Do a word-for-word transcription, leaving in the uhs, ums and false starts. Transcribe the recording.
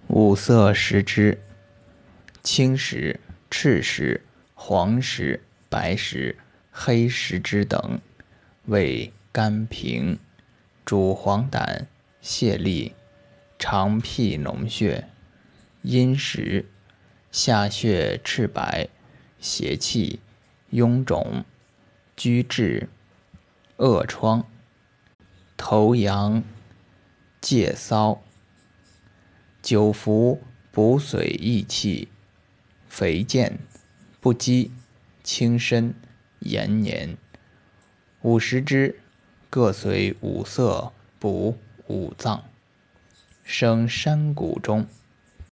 五色食之：青石、赤石、黄石、白石、黑石之等，味甘平，主黄疸、泻痢、肠辟脓血。阴石：下血赤白、邪气、臃肿、拘滞、恶疮、头痒、疥瘙。久服补髓益气，肥健，不饥，轻身，延年。五食之，各随五色补五脏，生山谷中。